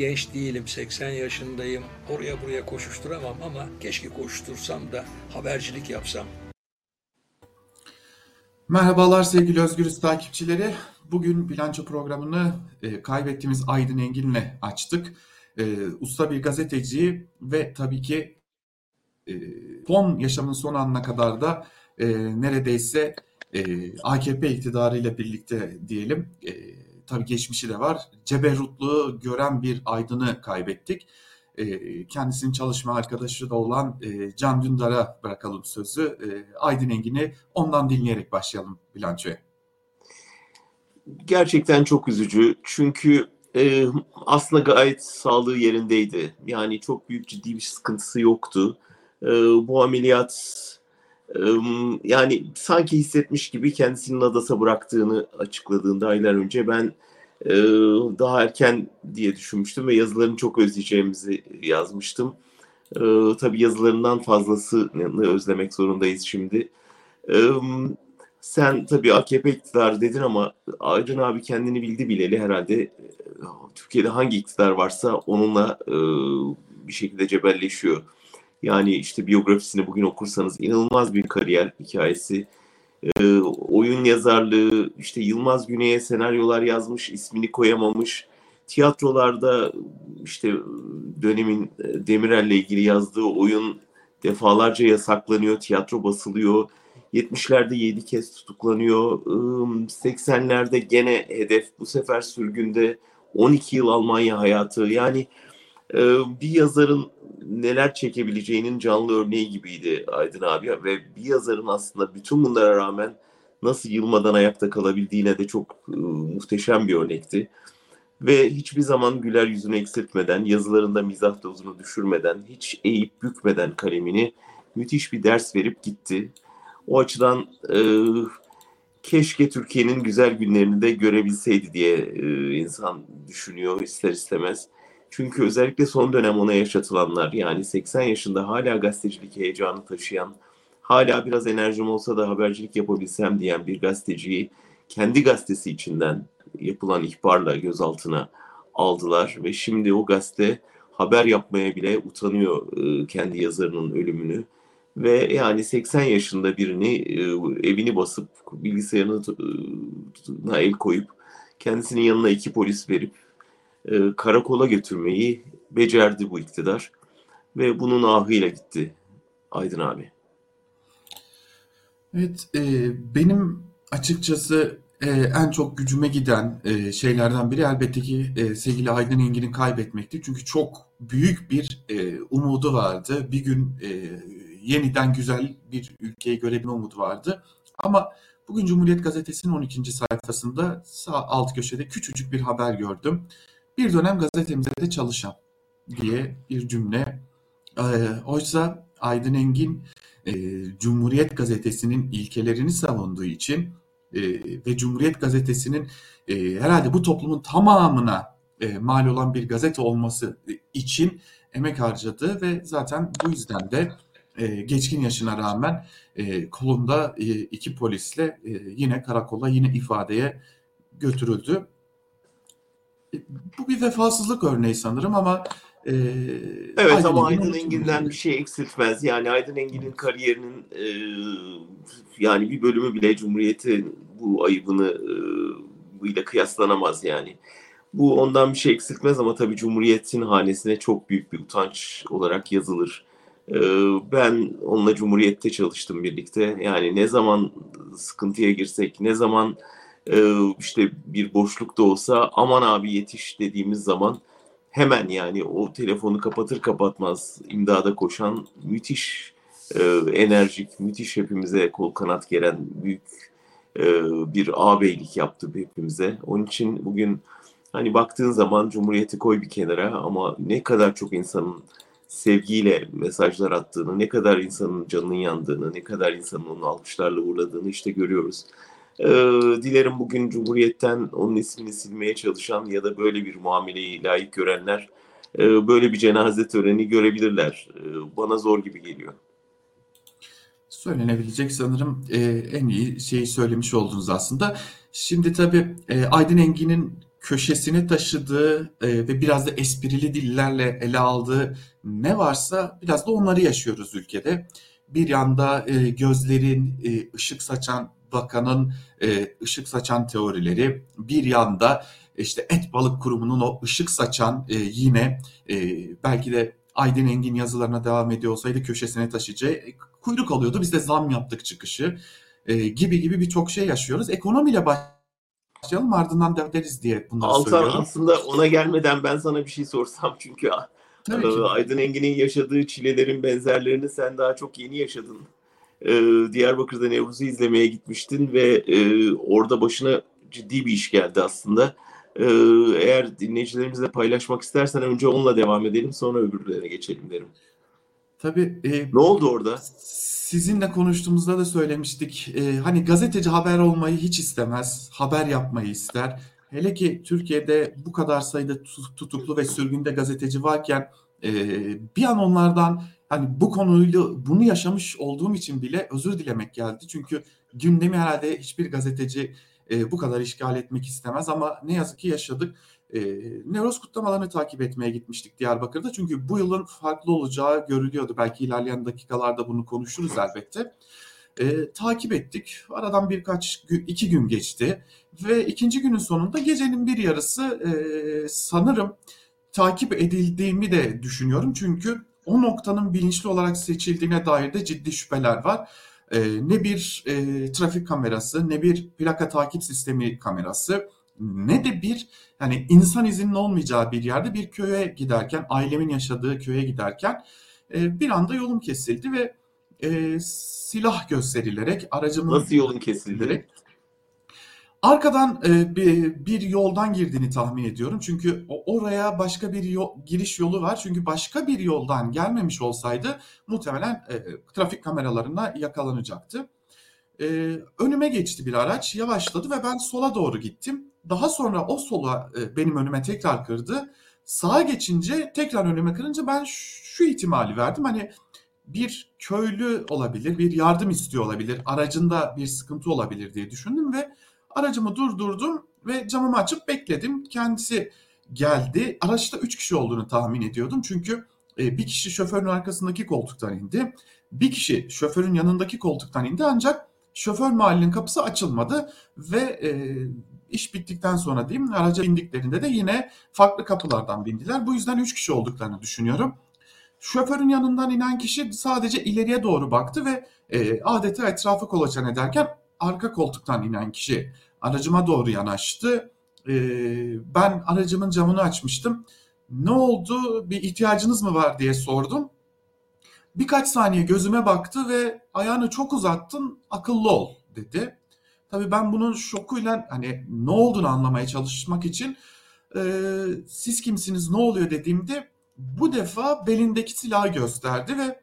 genç değilim, 80 yaşındayım, oraya buraya koşuşturamam ama keşke koştursam da habercilik yapsam. Merhabalar sevgili Özgürüz takipçileri. Bugün bilanço programını kaybettiğimiz Aydın Engin'le açtık. Usta bir gazeteci ve tabii ki e, son yaşamın son anına kadar da neredeyse AKP iktidarıyla birlikte diyelim. Tabii geçmişi de var. Ceberrutluğu gören bir Aydın'ı kaybettik. Kendisinin çalışma arkadaşı da olan Can Dündar'a bırakalım sözü. Aydın Engin'i ondan dinleyerek başlayalım bilançoya. Gerçekten çok üzücü. Çünkü aslında gayet sağlığı yerindeydi. Yani çok büyük ciddi bir sıkıntısı yoktu. E, Bu ameliyat e, yani sanki hissetmiş gibi kendisini Nadas'a bıraktığını açıkladığında aylar önce ben e, daha erken diye düşünmüştüm ve yazılarını çok özleyeceğimizi yazmıştım. E, tabii yazılarından fazlasını özlemek zorundayız şimdi. Ee, Sen tabii AKP iktidarı dedin ama Aydın abi kendini bildi bileli herhalde Türkiye'de hangi iktidar varsa onunla bir şekilde cebelleşiyor. Yani işte biyografisini bugün okursanız inanılmaz bir kariyer hikayesi. Oyun yazarlığı, işte Yılmaz Güney'e senaryolar yazmış, ismini koyamamış. Tiyatrolarda işte dönemin Demirel'le ilgili yazdığı oyun defalarca yasaklanıyor, tiyatro basılıyor. 70'lerde 7 kez tutuklanıyor. 80'lerde gene hedef, bu sefer sürgünde 12 yıl Almanya hayatı. Yani bir yazarın neler çekebileceğinin canlı örneği gibiydi Aydın abi ve bir yazarın aslında bütün bunlara rağmen nasıl yılmadan ayakta kalabildiğine de çok muhteşem bir örnekti. Ve hiçbir zaman güler yüzünü eksiltmeden, yazılarında mizah dozunu düşürmeden, hiç eğip bükmeden kalemini müthiş bir ders verip gitti. O açıdan keşke Türkiye'nin güzel günlerini de görebilseydi diye insan düşünüyor ister istemez. Çünkü özellikle son dönem ona yaşatılanlar, yani 80 yaşında hala gazetecilik heyecanı taşıyan, hala biraz enerjim olsa da habercilik yapabilsem diyen bir gazeteciyi kendi gazetesi içinden yapılan ihbarla gözaltına aldılar ve şimdi o gazete haber yapmaya bile utanıyor kendi yazarının ölümünü. Ve yani 80 yaşında birini evini basıp bilgisayarına el koyup kendisinin yanına 2 polis verip karakola götürmeyi becerdi bu iktidar. Ve bunun ahıyla gitti Aydın abi. Evet, benim açıkçası en çok gücüme giden şeylerden biri elbette ki sevgili Aydın Engin'i kaybetmekti. Çünkü çok büyük bir umudu vardı. Bir gün yeniden güzel bir ülkeyi görebilme umudu vardı. Ama bugün Cumhuriyet Gazetesi'nin 12. sayfasında sağ alt köşede küçücük bir haber gördüm. Bir dönem gazetemizde çalışan diye bir cümle. Oysa Aydın Engin Cumhuriyet Gazetesi'nin ilkelerini savunduğu için ve Cumhuriyet Gazetesi'nin herhalde bu toplumun tamamına mal olan bir gazete olması için emek harcadı ve zaten bu yüzden de geçkin yaşına rağmen kolunda 2 polisle yine karakola, yine ifadeye götürüldü. E, Bu bir vefasızlık örneği sanırım ama Evet Aydın ama Engin Aydın unutulmayacak. Engin'den bir şey eksiltmez. Yani Aydın Engin'in kariyerinin yani bir bölümü bile Cumhuriyet'in bu ayıbını ile kıyaslanamaz yani. Bu ondan bir şey eksiltmez ama tabii Cumhuriyet'in hanesine çok büyük bir utanç olarak yazılır. Ee, Ben onunla Cumhuriyet'te çalıştım birlikte. Yani ne zaman sıkıntıya girsek, ne zaman işte bir boşluk da olsa aman abi yetiş dediğimiz zaman hemen yani o telefonu kapatır kapatmaz imdada koşan müthiş enerjik, müthiş hepimize kol kanat geren büyük bir ağabeylik yaptı hepimize. Onun için bugün hani baktığın zaman Cumhuriyeti koy bir kenara ama ne kadar çok insanın sevgiyle mesajlar attığını, ne kadar insanın canının yandığını, ne kadar insanın onu alkışlarla uğurladığını işte görüyoruz. Ee, Dilerim bugün Cumhuriyet'ten onun ismini silmeye çalışan ya da böyle bir muameleyi layık görenler böyle bir cenaze töreni görebilirler. Bana zor gibi geliyor. Söylenebilecek sanırım en iyi şeyi söylemiş oldunuz aslında. Şimdi tabii Aydın Engin'in köşesine taşıdığı ve biraz da esprili dillerle ele aldığı ne varsa biraz da onları yaşıyoruz ülkede. Bir yanda gözlerin ışık saçan bakanın ışık saçan teorileri, bir yanda işte Et Balık Kurumu'nun o ışık saçan yine belki de Aydın Engin yazılarına devam ediyor olsaydı köşesine taşıyacağı kuyruk alıyordu. Biz de zam yaptık çıkışı gibi gibi birçok şey yaşıyoruz. Ekonomiyle başlayalım ardından devam ederiz diye bunları Altan, söylüyorum. aslında ona gelmeden ben sana bir şey sorsam, çünkü Tabii ki. Aydın Engin'in yaşadığı çilelerin benzerlerini sen daha çok yeni yaşadın. Diyarbakır'da Nevruz'u izlemeye gitmiştin ve orada başına ciddi bir iş geldi aslında. Eğer dinleyicilerimizle paylaşmak istersen önce onunla devam edelim, sonra öbürlerine geçelim derim. Tabii Ne oldu orada? sizinle konuştuğumuzda da söylemiştik. Hani gazeteci haber olmayı hiç istemez, haber yapmayı ister. Hele ki Türkiye'de bu kadar sayıda tutuklu ve sürgünde gazeteci varken bir an onlardan hani bu konuyla bunu yaşamış olduğum için bile özür dilemek geldi. Çünkü gündemi herhalde hiçbir gazeteci bu kadar işgal etmek istemez ama ne yazık ki yaşadık. Nevroz kutlamalarını takip etmeye gitmiştik Diyarbakır'da. Çünkü bu yılın farklı olacağı görülüyordu. Belki ilerleyen dakikalarda bunu konuşuruz elbette. Takip ettik. Aradan iki gün geçti. Ve ikinci günün sonunda gecenin bir yarısı sanırım takip edildiğimi de düşünüyorum. Çünkü o noktanın bilinçli olarak seçildiğine dair de ciddi şüpheler var. Ne bir trafik kamerası, ne bir plaka takip sistemi kamerası, ne de bir yani insan izinin olmayacağı bir yerde bir köye giderken, ailemin yaşadığı köye giderken bir anda yolum kesildi ve silah gösterilerek, aracımın Nasıl yolun kesildi? arkadan bir yoldan girdiğini tahmin ediyorum. Çünkü oraya başka bir giriş yolu var. Çünkü başka bir yoldan gelmemiş olsaydı muhtemelen trafik kameralarına yakalanacaktı. Önüme geçti bir araç, yavaşladı ve ben sola doğru gittim. Daha sonra o sola benim önüme tekrar kırdı. Sağa geçince tekrar önüme kırınca ben şu ihtimali verdim. Hani bir köylü olabilir, bir yardım istiyor olabilir, aracında bir sıkıntı olabilir diye düşündüm ve aracımı durdurdum ve camımı açıp bekledim. Kendisi geldi. Araçta 3 kişi olduğunu tahmin ediyordum. Çünkü bir kişi şoförün arkasındaki koltuktan indi. Bir kişi şoförün yanındaki koltuktan indi ancak şoför mahallinin kapısı açılmadı ve iş bittikten sonra diyeyim araca bindiklerinde de yine farklı kapılardan bindiler. Bu yüzden 3 kişi olduklarını düşünüyorum. Şoförün yanından inen kişi sadece ileriye doğru baktı ve adeta etrafı kolaçan ederken arka koltuktan inen kişi aracıma doğru yanaştı. Ben aracımın camını açmıştım. Ne oldu, bir ihtiyacınız mı var diye sordum. Birkaç saniye gözüme baktı ve ayağını çok uzattın, akıllı ol dedi. Tabii ben bunun şokuyla hani ne olduğunu anlamaya çalışmak için siz kimsiniz, ne oluyor dediğimde bu defa belindeki silahı gösterdi ve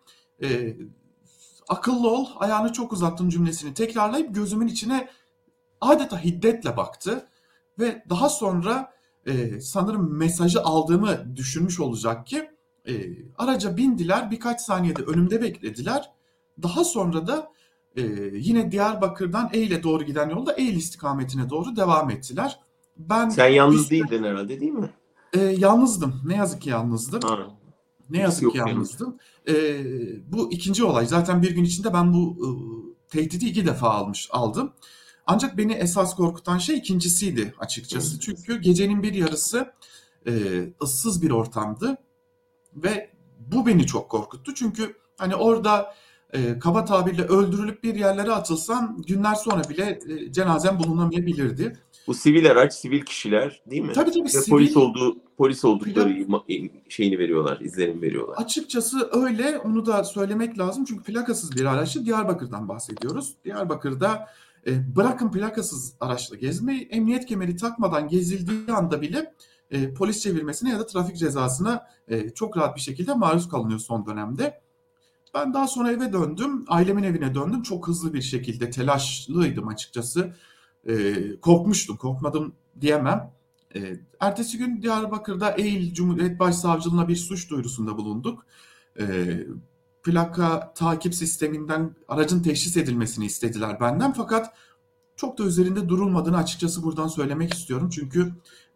akıllı ol, ayağını çok uzattın cümlesini tekrarlayıp gözümün içine adeta hiddetle baktı ve daha sonra sanırım mesajı aldığımı düşünmüş olacak ki araca bindiler, birkaç saniyede önümde beklediler. Daha sonra da yine Diyarbakır'dan Eylül'e doğru giden yolda Eylül istikametine doğru devam ettiler. Sen Bir yalnız süre değildin herhalde, değil mi? yalnızdım. Ne yazık ki yalnızdım. Ha, Ne birisi yazık ki yok yanında. yalnızdım. Bu ikinci olay. Zaten bir gün içinde ben bu tehdidi 2 defa aldım. Ancak beni esas korkutan şey ikincisiydi açıkçası. Çünkü gecenin bir yarısı ıssız bir ortamdı ve bu beni çok korkuttu. Çünkü hani orada kaba tabirle öldürülüp bir yerlere atılsam günler sonra bile cenazem bulunamayabilirdi. Bu sivil araç, sivil kişiler, değil mi? Tabii Ve sivil polis oldukları plak şeyini veriyorlar, izlenim veriyorlar. açıkçası öyle, onu da söylemek lazım çünkü plakasız bir araçtı. Diyarbakır'dan bahsediyoruz. Diyarbakır'da bırakın plakasız araçla gezmeyi, emniyet kemeri takmadan gezildiği anda bile polis çevirmesine ya da trafik cezasına çok rahat bir şekilde maruz kalınıyor son dönemde. Ben daha sonra eve döndüm, ailemin evine döndüm. Çok hızlı bir şekilde telaşlıydım açıkçası. Korkmuştum, korkmadım diyemem. Ertesi gün Diyarbakır'da Eğil Cumhuriyet Başsavcılığına bir suç duyurusunda bulunduk. Ee, Plaka takip sisteminden aracın teşhis edilmesini istediler benden fakat çok da üzerinde durulmadığını açıkçası buradan söylemek istiyorum. Çünkü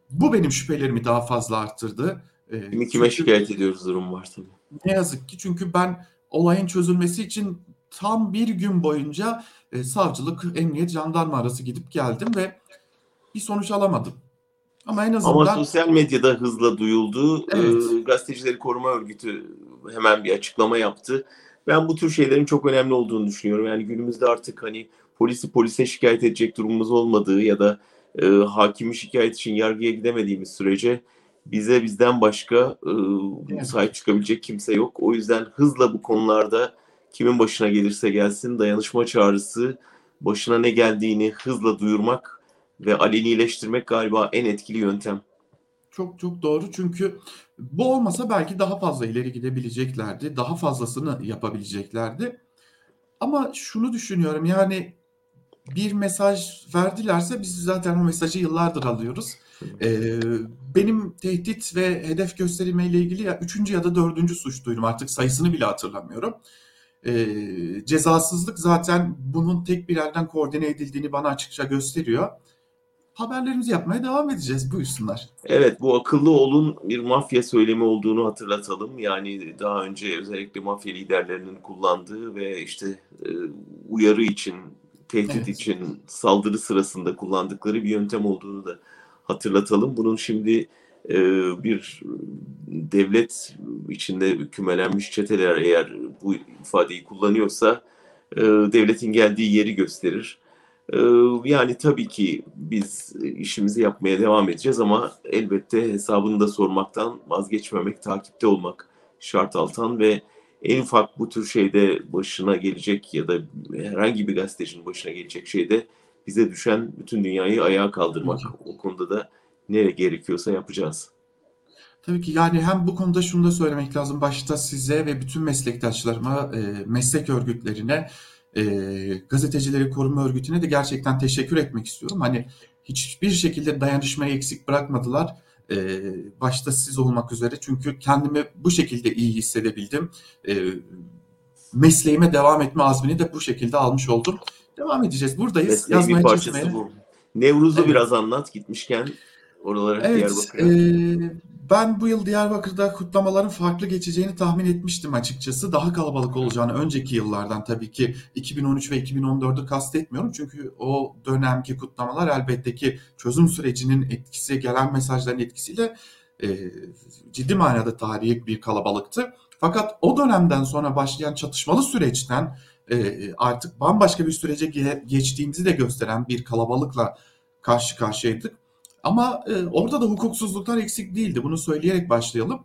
Bu benim şüphelerimi daha fazla arttırdı. Kimi kime Çünkü şikayet ediyoruz durum var tabii. ne yazık ki, çünkü ben olayın çözülmesi için tam bir gün boyunca savcılık, emniyet, jandarma arası gidip geldim ve bir sonuç alamadım. Ama en Ama azından sosyal medyada hızla duyuldu. evet, Gazetecileri Koruma Örgütü hemen bir açıklama yaptı. Ben bu tür şeylerin çok önemli olduğunu düşünüyorum. Yani günümüzde artık hani polise şikayet edecek durumumuz olmadığı ya da hakimi şikayet için yargıya gidemediğimiz sürece bizden başka ne yazık sahip ki. çıkabilecek kimse yok. O yüzden hızla bu konularda kimin başına gelirse gelsin dayanışma çağrısı, başına ne geldiğini hızla duyurmak ve alenileştirmek galiba en etkili yöntem. Çok çok doğru, çünkü bu olmasa belki daha fazla ileri gidebileceklerdi. Daha fazlasını yapabileceklerdi. Ama şunu düşünüyorum, yani bir mesaj verdilerse biz zaten o mesajı yıllardır alıyoruz. Ee, Benim tehdit ve hedef gösterilmeyle ilgili ya üçüncü ya da dördüncü suç duyurum, artık sayısını bile hatırlamıyorum. Cezasızlık zaten bunun tek bir yerden koordine edildiğini bana açıkça gösteriyor. Haberlerimizi yapmaya devam edeceğiz, buyursunlar. Evet, bu akıllı olun bir mafya söylemi olduğunu hatırlatalım. Yani daha önce özellikle mafya liderlerinin kullandığı ve işte e, uyarı için, tehdit Evet. için saldırı sırasında kullandıkları bir yöntem olduğunu da hatırlatalım. Bunun şimdi bir devlet içinde kümelenmiş çeteler eğer bu ifadeyi kullanıyorsa devletin geldiği yeri gösterir. Ee, Yani tabii ki biz işimizi yapmaya devam edeceğiz ama elbette hesabını da sormaktan vazgeçmemek, takipte olmak şart Altan ve en ufak bu tür şeyde başına gelecek ya da herhangi bir gazetecinin başına gelecek şeyde bize düşen bütün dünyayı ayağa Tabii ki. kaldırmak. O konuda da ne gerekiyorsa yapacağız. Tabii ki, yani hem bu konuda şunu da söylemek lazım. Başta size ve bütün meslektaşlarıma, meslek örgütlerine, gazetecileri koruma örgütüne de gerçekten teşekkür etmek istiyorum. Hani hiçbir şekilde dayanışmayı eksik bırakmadılar. Başta siz olmak üzere. Çünkü kendimi bu şekilde iyi hissedebildim. E, Mesleğime devam etme azmini de bu şekilde almış oldum. Devam edeceğiz. Buradayız. Mesleğin bir Yazmaya, parçası çizmeye. bu. Nevruz'u Evet. biraz anlat gitmişken oralara Evet, Diyarbakır'a. ben bu yıl Diyarbakır'da kutlamaların farklı geçeceğini tahmin etmiştim açıkçası. Daha kalabalık olacağını, önceki yıllardan tabii ki 2013 ve 2014'ü kastetmiyorum. Çünkü o dönemki kutlamalar elbette ki çözüm sürecinin etkisi, gelen mesajların etkisiyle e, ciddi manada tarihi bir kalabalıktı. Fakat o dönemden sonra başlayan çatışmalı süreçten artık bambaşka bir sürece geçtiğimizi de gösteren bir kalabalıkla karşı karşıyaydık. Ama orada da hukuksuzluklar eksik değildi. Bunu söyleyerek başlayalım.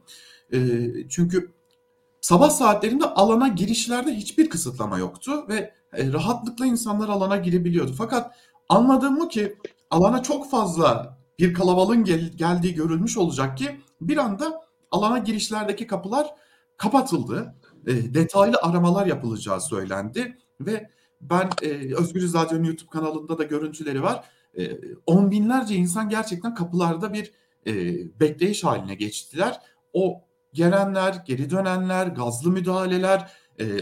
Çünkü sabah saatlerinde alana girişlerde hiçbir kısıtlama yoktu ve rahatlıkla insanlar alana girebiliyordu. Fakat anladığım o ki alana çok fazla bir kalabalığın geldiği görülmüş olacak ki bir anda alana girişlerdeki kapılar kapatıldı. Detaylı aramalar yapılacağı söylendi ve ben Özgürüz Radyo'nun YouTube kanalında da görüntüleri var. On binlerce insan gerçekten kapılarda bir e, bekleyiş haline geçtiler. O gelenler, geri dönenler, gazlı müdahaleler,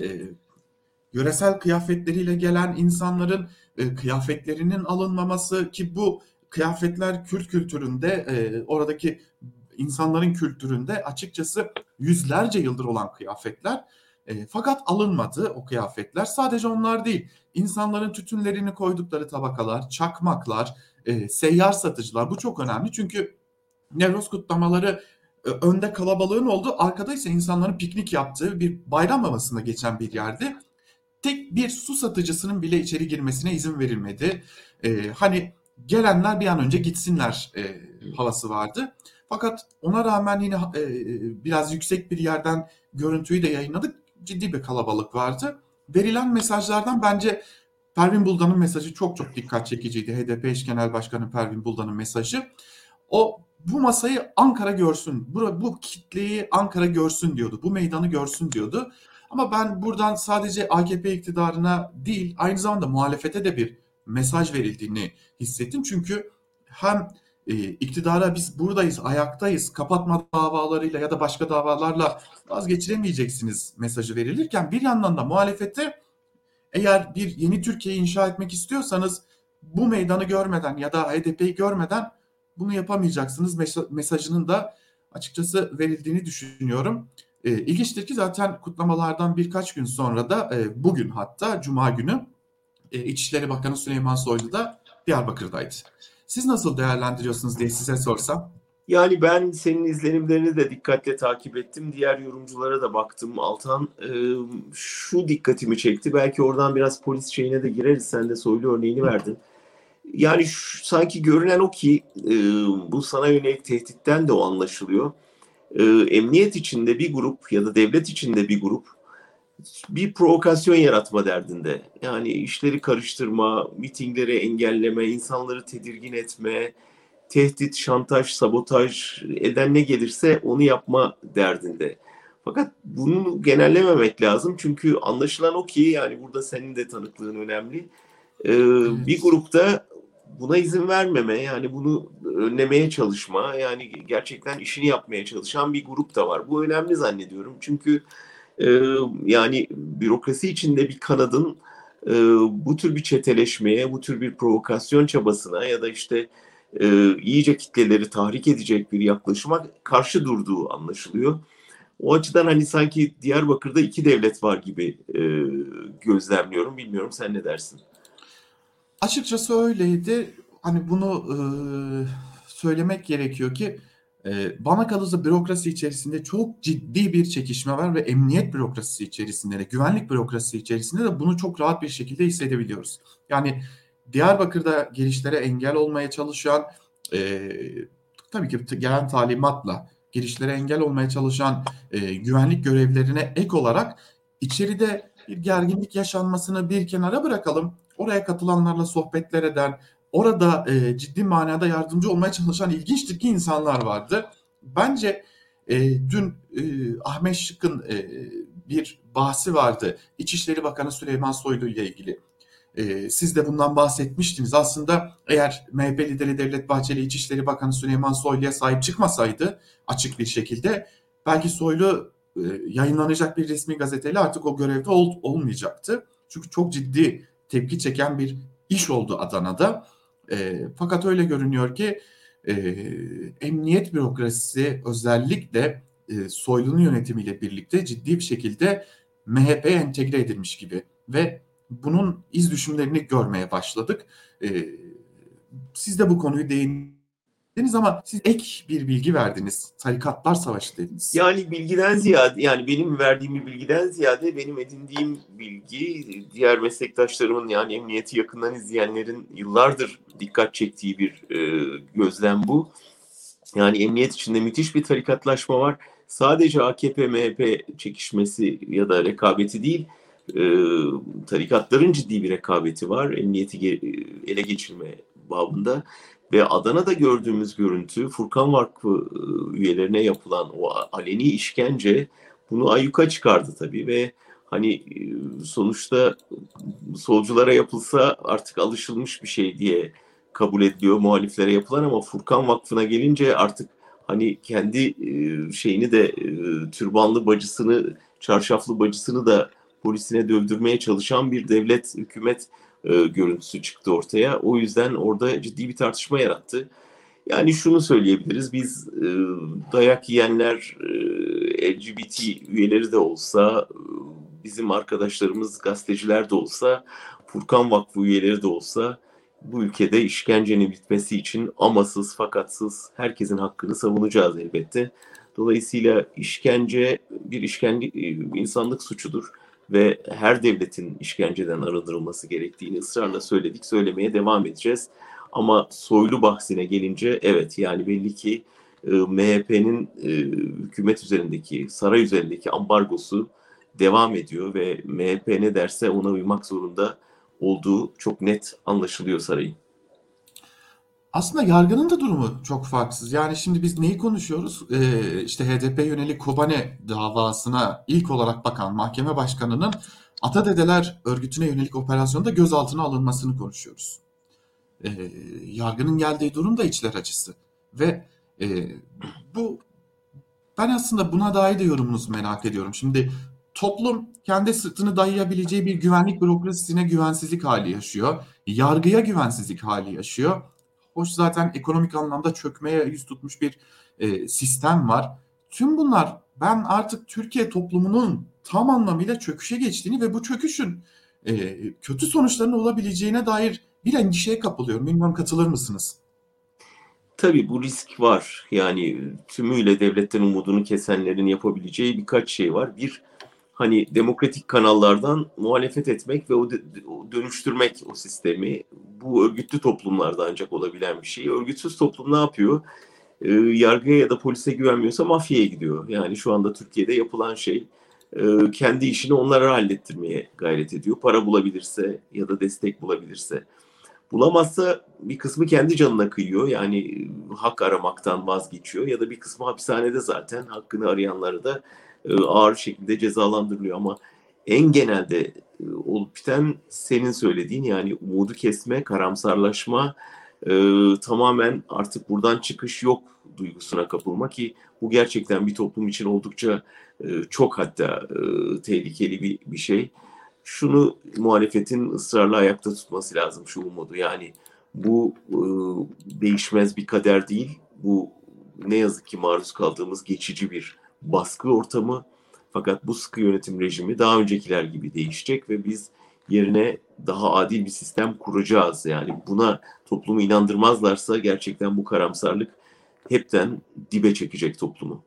yöresel kıyafetleriyle gelen insanların kıyafetlerinin alınmaması, ki bu kıyafetler Kürt kültüründe, oradaki insanların kültüründe açıkçası yüzlerce yıldır olan kıyafetler. Fakat alınmadı o kıyafetler. Sadece onlar değil, insanların tütünlerini koydukları tabakalar, çakmaklar, seyyar satıcılar, bu çok önemli. Çünkü Nevroz kutlamaları önde kalabalığın olduğu, arkada ise insanların piknik yaptığı bir bayram havasında geçen bir yerdi. Tek bir su satıcısının bile içeri girmesine izin verilmedi. Hani gelenler bir an önce gitsinler havası vardı. Fakat ona rağmen yine biraz yüksek bir yerden görüntüyü de yayınladık. Ciddi bir kalabalık vardı. Verilen mesajlardan bence Pervin Buldan'ın mesajı çok çok dikkat çekiciydi. HDP eş genel başkanı Pervin Buldan'ın mesajı. O bu masayı Ankara görsün, bu kitleyi Ankara görsün diyordu, bu meydanı görsün diyordu. Ama ben buradan sadece AKP iktidarına değil, aynı zamanda muhalefete de bir mesaj verildiğini hissettim. Çünkü hem iktidara biz buradayız, ayaktayız, kapatma davalarıyla ya da başka davalarla vazgeçiremeyeceksiniz mesajı verilirken, bir yandan da muhalefete eğer bir yeni Türkiye inşa etmek istiyorsanız bu meydanı görmeden ya da HDP'yi görmeden bunu yapamayacaksınız mesajının da açıkçası verildiğini düşünüyorum. İlginçtir ki zaten kutlamalardan birkaç gün sonra da bugün hatta Cuma günü İçişleri Bakanı Süleyman Soylu da Diyarbakır'daydı. Siz nasıl değerlendiriyorsunuz diye size sorsam? Yani ben senin izlenimlerini de dikkatle takip ettim. Diğer yorumculara da baktım Altan. Şu dikkatimi çekti. Belki oradan biraz polis şeyine de gireriz. Sen de Soylu örneğini verdin. Yani sanki görünen o ki bu sana yönelik tehditten de o anlaşılıyor. Emniyet içinde bir grup ya da devlet içinde bir grup bir provokasyon yaratma derdinde. Yani işleri karıştırma, mitingleri engelleme, insanları tedirgin etme, tehdit, şantaj, sabotaj eden ne gelirse onu yapma derdinde. Fakat bunu genellememek lazım. Çünkü anlaşılan o ki yani burada senin de tanıklığın önemli. Bir Evet. grupta buna izin vermeme, yani bunu önlemeye çalışma, yani gerçekten işini yapmaya çalışan bir grup da var. Bu önemli zannediyorum. Çünkü yani bürokrasi içinde bir kanadın bu tür bir çeteleşmeye, bu tür bir provokasyon çabasına ya da işte iyice kitleleri tahrik edecek bir yaklaşıma karşı durduğu anlaşılıyor. O açıdan hani sanki Diyarbakır'da iki devlet var gibi gözlemliyorum. Bilmiyorum, sen ne dersin? Açıkçası öyleydi. Hani bunu söylemek gerekiyor ki bana kalırsa bürokrasi içerisinde çok ciddi bir çekişme var ve emniyet bürokrasisi içerisinde de, güvenlik bürokrasisi içerisinde de bunu çok rahat bir şekilde hissedebiliyoruz. Yani Diyarbakır'da girişlere engel olmaya çalışan, e, tabii ki gelen talimatla girişlere engel olmaya çalışan güvenlik görevlilerine ek olarak içeride bir gerginlik yaşanmasını bir kenara bırakalım. Oraya katılanlarla sohbetler eden, orada ciddi manada yardımcı olmaya çalışan ilginç ki insanlar vardı. Bence dün Ahmet Şık'ın bir bahsi vardı. İçişleri Bakanı Süleyman Soylu ile ilgili. Siz de bundan bahsetmiştiniz. Aslında eğer MHP lideri Devlet Bahçeli İçişleri Bakanı Süleyman Soylu'ya sahip çıkmasaydı açık bir şekilde belki Soylu yayınlanacak bir resmi gazeteyle artık o görevde olmayacaktı. Çünkü çok ciddi tepki çeken bir iş oldu Adana'da. Fakat öyle görünüyor ki e, emniyet bürokrasisi özellikle Soylu'nun yönetimiyle birlikte ciddi bir şekilde MHP'ye entegre edilmiş gibi ve bunun iz düşümlerini görmeye başladık. Siz de bu konuyu değindiniz ama siz ek bir bilgi verdiniz. Tarikatlar Savaşı dediniz. Yani bilgiden ziyade, yani benim verdiğim bilgiden ziyade benim edindiğim bilgi, diğer meslektaşlarımın, yani emniyeti yakından izleyenlerin yıllardır dikkat çektiği bir gözlem bu. Yani emniyet içinde müthiş bir tarikatlaşma var. Sadece AKP-MHP çekişmesi ya da rekabeti değil, e, tarikatların ciddi bir rekabeti var emniyeti ele geçirme babında. Ve Adana'da gördüğümüz görüntü, Furkan Vakfı üyelerine yapılan o aleni işkence bunu ayyuka çıkardı tabii ve hani sonuçta solculara yapılsa artık alışılmış bir şey diye kabul ediliyor muhaliflere yapılan, ama Furkan Vakfı'na gelince artık hani kendi şeyini de türbanlı bacısını, çarşaflı bacısını da polisine dövdürmeye çalışan bir devlet, hükümet görüntüsü çıktı ortaya. O yüzden orada ciddi bir tartışma yarattı. Yani şunu söyleyebiliriz, biz dayak yiyenler LGBT üyeleri de olsa, bizim arkadaşlarımız gazeteciler de olsa, Furkan Vakfı üyeleri de olsa bu ülkede işkencenin bitmesi için amasız fakatsız herkesin hakkını savunacağız elbette. Dolayısıyla işkence bir insanlık suçudur ve her devletin işkenceden arındırılması gerektiğini ısrarla söyledik, söylemeye devam edeceğiz. Ama Soylu bahsine gelince evet, yani belli ki MHP'nin hükümet üzerindeki, saray üzerindeki ambargosu devam ediyor ve MHP ne derse ona uymak zorunda olduğu çok net anlaşılıyor sarayın. Aslında yargının da durumu çok farksız. Yani şimdi biz neyi konuşuyoruz? İşte HDP yönelik Kobane davasına ilk olarak bakan mahkeme başkanının Atadedeler örgütüne yönelik operasyonda gözaltına alınmasını konuşuyoruz. Yargının geldiği durum da içler acısı. Ve e, bu ben aslında buna dair de yorumunuzu merak ediyorum. Şimdi toplum kendi sırtını dayayabileceği bir güvenlik bürokrasisine güvensizlik hali yaşıyor. Yargıya güvensizlik hali yaşıyor. Hoş zaten ekonomik anlamda çökmeye yüz tutmuş bir sistem var. Tüm bunlar ben artık Türkiye toplumunun tam anlamıyla çöküşe geçtiğini ve bu çöküşün kötü sonuçlarının olabileceğine dair bir endişeye kapılıyorum. Bilmiyorum katılır mısınız? Tabii bu risk var. Yani tümüyle devletten umudunu kesenlerin yapabileceği birkaç şey var. Bir, hani demokratik kanallardan muhalefet etmek ve o dönüştürmek o sistemi. Bu örgütlü toplumlarda ancak olabilen bir şey. Örgütsüz toplum ne yapıyor? Yargıya ya da polise güvenmiyorsa mafyaya gidiyor. Yani şu anda Türkiye'de yapılan şey kendi işini onlara hallettirmeye gayret ediyor. Para bulabilirse ya da destek bulabilirse. Bulamazsa bir kısmı kendi canına kıyıyor. Yani hak aramaktan vazgeçiyor ya da bir kısmı hapishanede zaten hakkını arayanları da ağır şekilde cezalandırılıyor. Ama en genelde olup biten senin söylediğin, yani umudu kesme, karamsarlaşma, tamamen artık buradan çıkış yok duygusuna kapılma, ki bu gerçekten bir toplum için oldukça çok, hatta tehlikeli bir şey. Şunu muhalefetin ısrarla ayakta tutması lazım, şu umudu. Yani bu değişmez bir kader değil. Bu ne yazık ki maruz kaldığımız geçici bir baskı ortamı. Fakat bu sıkı yönetim rejimi daha öncekiler gibi değişecek ve biz yerine daha adil bir sistem kuracağız. Yani buna toplumu inandırmazlarsa gerçekten bu karamsarlık hepten dibe çekecek toplumu.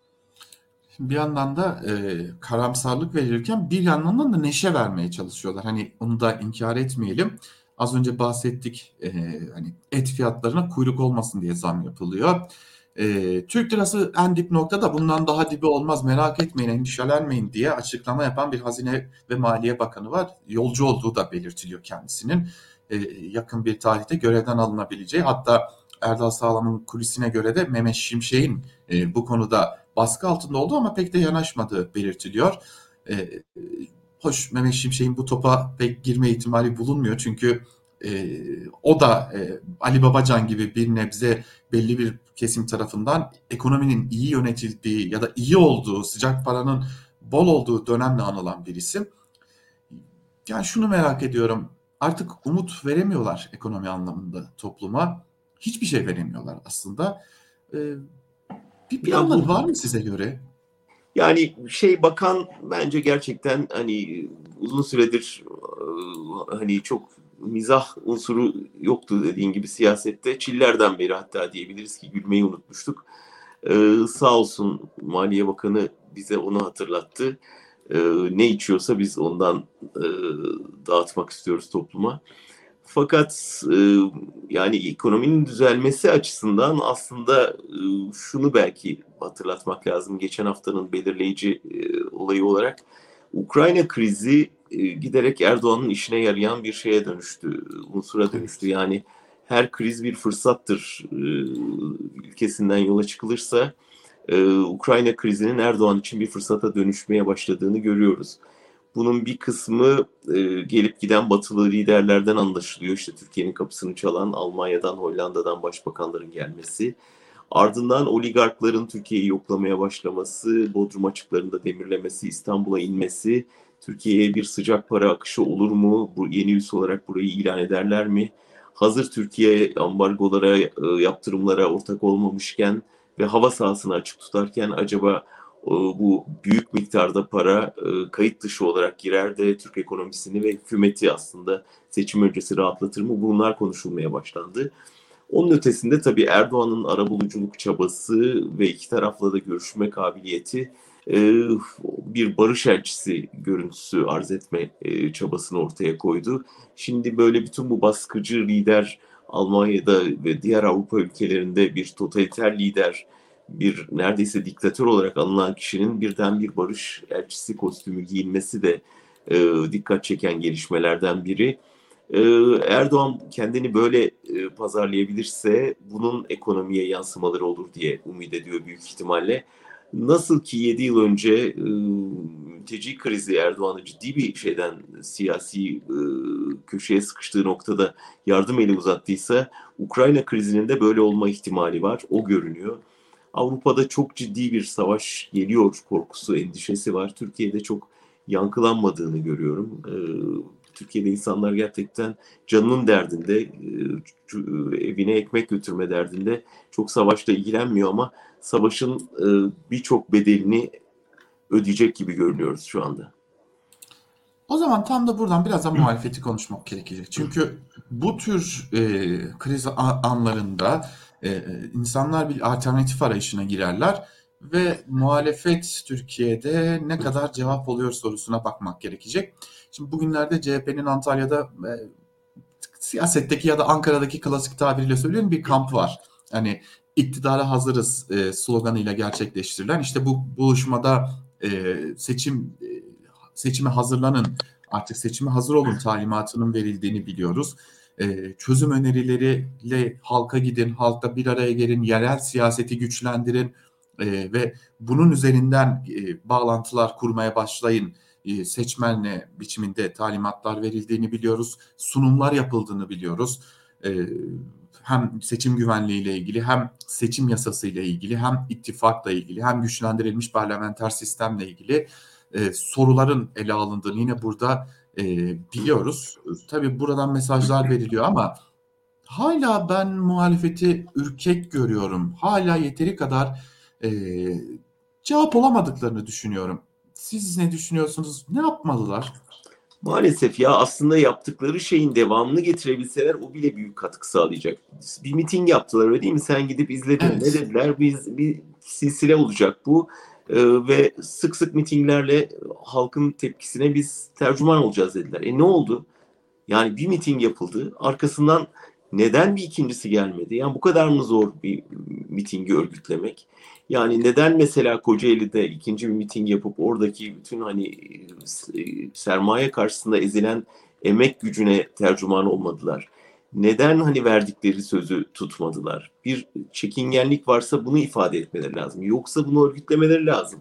Bir yandan da karamsarlık verirken bir yandan da neşe vermeye çalışıyorlar. Hani onu da inkar etmeyelim. Az önce bahsettik, hani et fiyatlarına kuyruk olmasın diye zam yapılıyor. Türk lirası en dip noktada, bundan daha dibi olmaz, merak etmeyin, endişelenmeyin diye açıklama yapan bir Hazine ve Maliye Bakanı var. Yolcu olduğu da belirtiliyor kendisinin. Yakın bir tarihte görevden alınabileceği, hatta Erdal Sağlam'ın kulisine göre de Mehmet Şimşek'in bu konuda baskı altında olduğu ama pek de yanaşmadığı belirtiliyor. E, Hoş, Mehmet Şimşek'in bu topa pek girme ihtimali bulunmuyor. Çünkü o da Ali Babacan gibi bir nebze belli bir kesim tarafından ekonominin iyi yönetildiği ya da iyi olduğu, sıcak paranın bol olduğu dönemle anılan bir isim. Yani şunu merak ediyorum. Artık umut veremiyorlar ekonomi anlamında topluma. Hiçbir şey veremiyorlar aslında. Ee, Bir Ya planları bu, var mı size göre? yani bakan bence gerçekten hani uzun süredir hani çok mizah unsuru yoktu dediğin gibi siyasette. Çillerden beri hatta diyebiliriz ki gülmeyi unutmuştuk. Sağ olsun Maliye Bakanı bize onu hatırlattı. Ne içiyorsa biz ondan e, dağıtmak istiyoruz topluma. Fakat yani ekonominin düzelmesi açısından aslında şunu belki hatırlatmak lazım. Geçen haftanın belirleyici olayı olarak Ukrayna krizi giderek Erdoğan'ın işine yarayan bir şeye dönüştü, unsura dönüştü. Evet. Yani her kriz bir fırsattır ülkesinden yola çıkılırsa Ukrayna krizinin Erdoğan için bir fırsata dönüşmeye başladığını görüyoruz. Bunun bir kısmı gelip giden batılı liderlerden anlaşılıyor. İşte Türkiye'nin kapısını çalan Almanya'dan, Hollanda'dan başbakanların gelmesi. Ardından oligarkların Türkiye'yi yoklamaya başlaması, Bodrum açıklarında demirlemesi, İstanbul'a inmesi, Türkiye'ye bir sıcak para akışı olur mu? Bu yeni üs olarak burayı ilan ederler mi? Hazır Türkiye ambargolara, yaptırımlara ortak olmamışken ve hava sahasını açık tutarken acaba bu büyük miktarda para kayıt dışı olarak girer de Türk ekonomisini ve hükümeti aslında seçim öncesi rahatlatır mı? Bunlar konuşulmaya başlandı. Onun ötesinde tabii Erdoğan'ın arabuluculuk çabası ve iki tarafla da görüşme kabiliyeti bir barış elçisi görüntüsü arz etme çabasını ortaya koydu. Şimdi böyle bütün bu baskıcı lider, Almanya'da ve diğer Avrupa ülkelerinde bir totaliter lider, bir neredeyse diktatör olarak anılan kişinin birden bir barış elçisi kostümü giyinmesi de dikkat çeken gelişmelerden biri. Erdoğan kendini böyle pazarlayabilirse bunun ekonomiye yansımaları olur diye umut ediyor büyük ihtimalle. Nasıl ki 7 yıl önce mülteci krizi Erdoğan'ı ciddi bir şeyden, siyasi köşeye sıkıştığı noktada yardım eli uzattıysa, Ukrayna krizinin de böyle olma ihtimali var. O görünüyor. Avrupa'da çok ciddi bir savaş geliyor korkusu, endişesi var. Türkiye'de çok yankılanmadığını görüyorum. Türkiye'de insanlar gerçekten canının derdinde, evine ekmek götürme derdinde. Çok savaşla ilgilenmiyor ama savaşın birçok bedelini ödeyecek gibi görünüyoruz şu anda. O zaman tam da buradan biraz da muhalefeti konuşmak gerekecek. Çünkü bu tür kriz anlarında insanlar bir alternatif arayışına girerler ve muhalefet Türkiye'de ne kadar cevap oluyor sorusuna bakmak gerekecek. Şimdi bugünlerde CHP'nin Antalya'da siyasetteki ya da Ankara'daki klasik tabiriyle söylüyorum bir kamp var. Hani iktidara hazırız sloganıyla gerçekleştirilen. İşte bu buluşmada seçime hazırlanın, artık seçime hazır olun talimatının verildiğini biliyoruz. Çözüm önerileriyle halka gidin, halkla bir araya gelin, yerel siyaseti güçlendirin ve bunun üzerinden bağlantılar kurmaya başlayın. Seçmenle biçiminde talimatlar verildiğini biliyoruz. Sunumlar yapıldığını biliyoruz. Hem seçim güvenliği ile ilgili, hem seçim yasası ile ilgili, hem ittifakla ilgili, hem güçlendirilmiş parlamenter sistemle ilgili soruların ele alındığını yine burada biliyoruz. Tabii buradan mesajlar veriliyor ama hala ben muhalefeti ürkek görüyorum. Hala yeteri kadar cevap olamadıklarını düşünüyorum. Siz ne düşünüyorsunuz? Ne yapmalılar? Maalesef ya, aslında yaptıkları şeyin devamını getirebilseler o bile büyük katkı sağlayacak. Bir miting yaptılar, öyle değil mi? Sen gidip izledin. Evet. Ne dediler? Bir silsile olacak bu. Ve sık sık mitinglerle halkın tepkisine biz tercüman olacağız dediler. Ne oldu? Yani bir miting yapıldı. Arkasından neden bir ikincisi gelmedi? Yani bu kadar mı zor bir mitingi örgütlemek? Yani neden mesela Kocaeli'de ikinci bir miting yapıp oradaki bütün hani sermaye karşısında ezilen emek gücüne tercüman olmadılar? Neden hani verdikleri sözü tutmadılar? Bir çekingenlik varsa bunu ifade etmeleri lazım. Yoksa bunu örgütlemeleri lazım.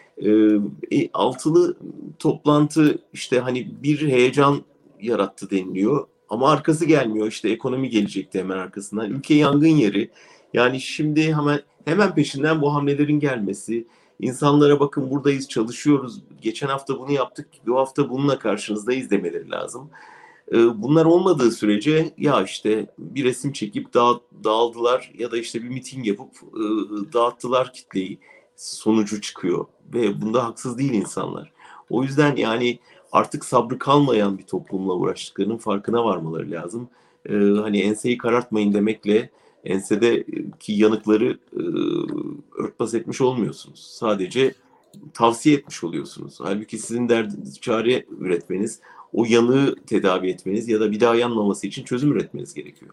Altılı toplantı işte hani bir heyecan yarattı deniliyor. Ama arkası gelmiyor. İşte ekonomi gelecekti hemen arkasından. Ülke yangın yeri. Yani şimdi hemen peşinden bu hamlelerin gelmesi. İnsanlara bakın buradayız, çalışıyoruz. Geçen hafta bunu yaptık. Bu hafta bununla karşınızdayız demeleri lazım. Bunlar olmadığı sürece ya işte bir resim çekip dağıldılar ya da işte bir miting yapıp dağıttılar kitleyi sonucu çıkıyor. Ve bunda haksız değil insanlar. O yüzden yani artık sabrı kalmayan bir toplumla uğraştıklarının farkına varmaları lazım. Hani enseyi karartmayın demekle ensedeki yanıkları örtbas etmiş olmuyorsunuz. Sadece tavsiye etmiş oluyorsunuz. Halbuki sizin derdiniz çare üretmeniz, o yanığı tedavi etmeniz ya da bir daha yanmaması için çözüm üretmeniz gerekiyor.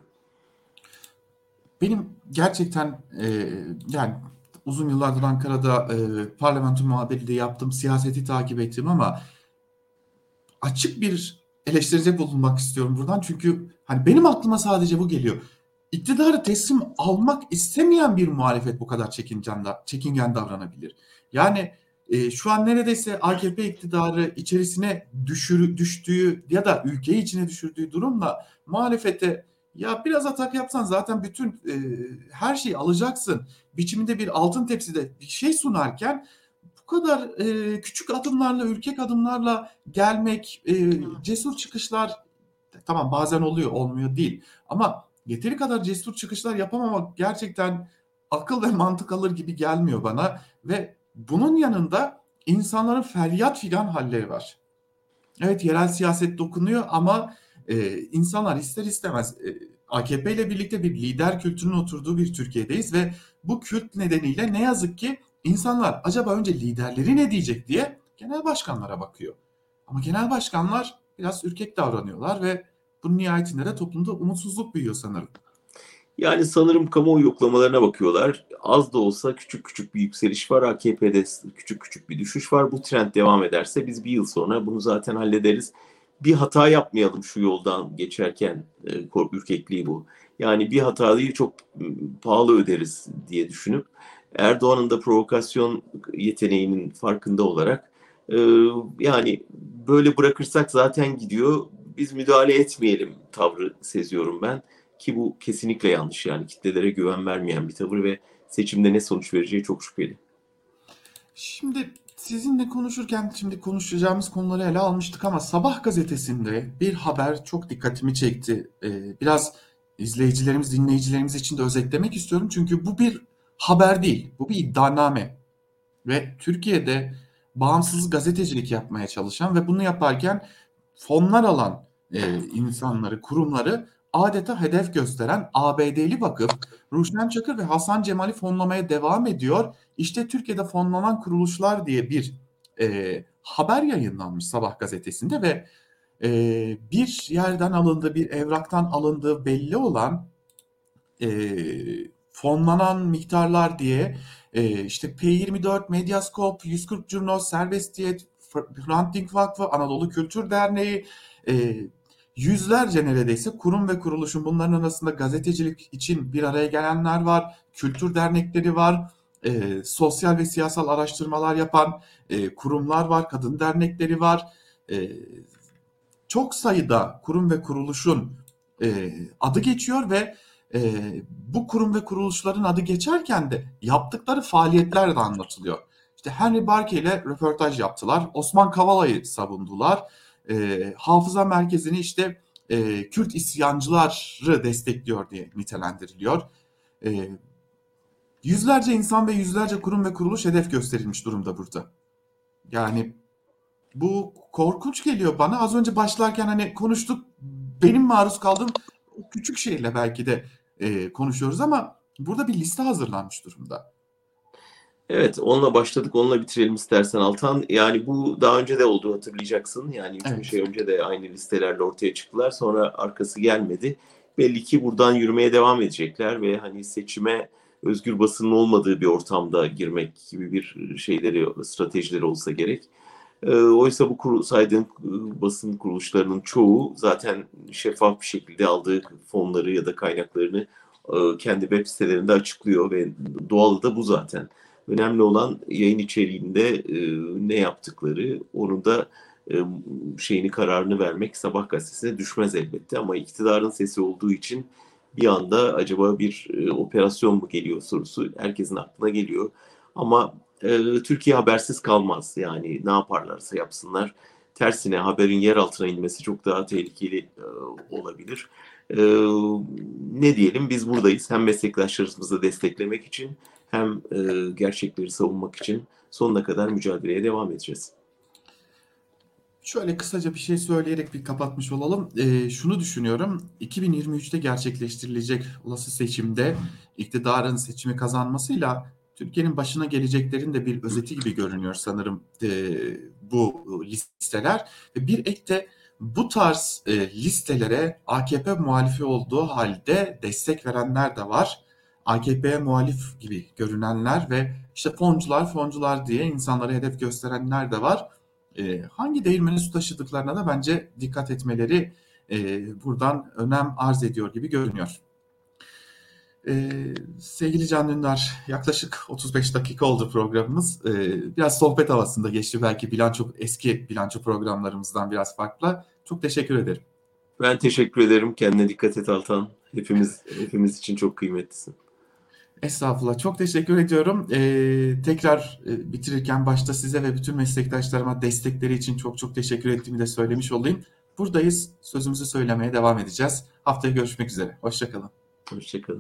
Benim gerçekten yani uzun yıllardır Ankara'da parlamento muhabirliği yaptım, siyaseti takip ettim ama açık bir eleştiride bulunmak istiyorum buradan. Çünkü hani benim aklıma sadece bu geliyor. İktidarı teslim almak istemeyen bir muhalefet bu kadar çekingen davranabilir. Yani şu an neredeyse AKP iktidarı içerisine düştüğü ya da ülkeyi içine düşürdüğü durumla muhalefete ya biraz atak yapsan zaten bütün her şeyi alacaksın biçiminde bir altın tepside bir şey sunarken bu kadar küçük adımlarla, ürkek adımlarla gelmek, cesur çıkışlar tamam bazen oluyor, olmuyor değil. Ama yeteri kadar cesur çıkışlar yapamamak gerçekten akıl ve mantık alır gibi gelmiyor bana. Ve bunun yanında insanların feryat figan halleri var. Evet yerel siyaset dokunuyor ama insanlar ister istemez AKP ile birlikte bir lider kültürünün oturduğu bir Türkiye'deyiz ve bu kült nedeniyle ne yazık ki insanlar acaba önce liderleri ne diyecek diye genel başkanlara bakıyor. Ama genel başkanlar biraz ürkek davranıyorlar ve bunun nihayetinde de toplumda umutsuzluk büyüyor sanırım. Yani sanırım kamuoyu yoklamalarına bakıyorlar. Az da olsa küçük küçük bir yükseliş var. AKP'de küçük küçük bir düşüş var. Bu trend devam ederse biz bir yıl sonra bunu zaten hallederiz. Bir hata yapmayalım şu yoldan geçerken, ürkekliği bu. Yani bir hatayı çok pahalı öderiz diye düşünüp Erdoğan'ın da provokasyon yeteneğinin farkında olarak yani böyle bırakırsak zaten gidiyor. Biz müdahale etmeyelim tavrı seziyorum ben. Ki bu kesinlikle yanlış, yani kitlelere güven vermeyen bir tavır ve seçimde ne sonuç vereceği çok şüpheli. Şimdi Sizinle konuşurken şimdi konuşacağımız konuları ele almıştık ama Sabah gazetesinde bir haber çok dikkatimi çekti. Biraz izleyicilerimiz, dinleyicilerimiz için de özetlemek istiyorum. Çünkü bu bir haber değil, bu bir iddianame. Ve Türkiye'de bağımsız gazetecilik yapmaya çalışan ve bunu yaparken fonlar alan insanları, kurumları adeta hedef gösteren ABD'li vakıf Ruşen Çakır ve Hasan Cemal'i fonlamaya devam ediyor. İşte Türkiye'de fonlanan kuruluşlar diye bir haber yayınlanmış Sabah gazetesinde ve bir yerden alındığı, bir evraktan alındığı belli olan fonlanan miktarlar diye işte P24, Medyascope, 140 Curnos, Serbestiyet, Hrant Dink Vakfı, Anadolu Kültür Derneği, yüzlerce neredeyse kurum ve kuruluşun, bunların arasında gazetecilik için bir araya gelenler var, kültür dernekleri var, sosyal ve siyasal araştırmalar yapan kurumlar var, kadın dernekleri var. Çok sayıda kurum ve kuruluşun adı geçiyor ve bu kurum ve kuruluşların adı geçerken de yaptıkları faaliyetler de anlatılıyor. İşte Henry Barkey ile röportaj yaptılar. Osman Kavala'yı savundular. Hafıza Merkezi'ni işte Kürt isyancıları destekliyor diye nitelendiriliyor. Yüzlerce insan ve yüzlerce kurum ve kuruluş hedef gösterilmiş durumda burada. Yani bu korkunç geliyor bana. Az önce başlarken hani konuştuk. Benim maruz kaldığım o küçük şeyle belki de konuşuyoruz ama burada bir liste hazırlanmış durumda. Evet, onunla başladık, onunla bitirelim istersen Altan. Yani bu daha önce de oldu, hatırlayacaksın. Yani 3-5 ay Evet. önce de aynı listelerle ortaya çıktılar. Sonra arkası gelmedi. Belli ki buradan yürümeye devam edecekler ve hani seçime özgür basının olmadığı bir ortamda girmek gibi bir stratejileri olsa gerek. Oysa bu saydığım basın kuruluşlarının çoğu zaten şeffaf bir şekilde aldığı fonları ya da kaynaklarını kendi web sitelerinde açıklıyor ve doğalı da bu zaten. Önemli olan yayın içeriğinde ne yaptıkları, onun da kararını vermek Sabah gazetesine düşmez elbette, ama iktidarın sesi olduğu için bir anda acaba bir operasyon mu geliyor sorusu herkesin aklına geliyor. Ama Türkiye habersiz kalmaz. Yani ne yaparlarsa yapsınlar. Tersine haberin yer altına inmesi çok daha tehlikeli olabilir. E, Ne diyelim, biz buradayız. Hem meslektaşlarımızı desteklemek için hem gerçekleri savunmak için sonuna kadar mücadeleye devam edeceğiz. Şöyle kısaca bir şey söyleyerek bir kapatmış olalım. Şunu düşünüyorum. 2023'te gerçekleştirilecek olası seçimde iktidarın seçimi kazanmasıyla Türkiye'nin başına geleceklerin de bir özeti gibi görünüyor sanırım bu listeler. Ve bir ek de bu tarz listelere AKP muhalifi olduğu halde destek verenler de var. AKP'ye muhalif gibi görünenler ve işte foncular diye insanları hedef gösterenler de var. Hangi değirmeni su taşıdıklarına da bence dikkat etmeleri buradan önem arz ediyor gibi görünüyor. Sevgili Can Dündar, yaklaşık 35 dakika oldu programımız. Biraz sohbet havasında geçti. Belki eski bilanço programlarımızdan biraz farklı. Çok teşekkür ederim. Ben teşekkür ederim. Kendine dikkat et Altan. Hepimiz için çok kıymetlisin. Estağfurullah. Çok teşekkür ediyorum. Tekrar bitirirken başta size ve bütün meslektaşlarıma destekleri için çok çok teşekkür ettiğimi de söylemiş olayım. Buradayız. Sözümüzü söylemeye devam edeceğiz. Haftaya görüşmek üzere. Hoşça kalın. Hoşçakalın.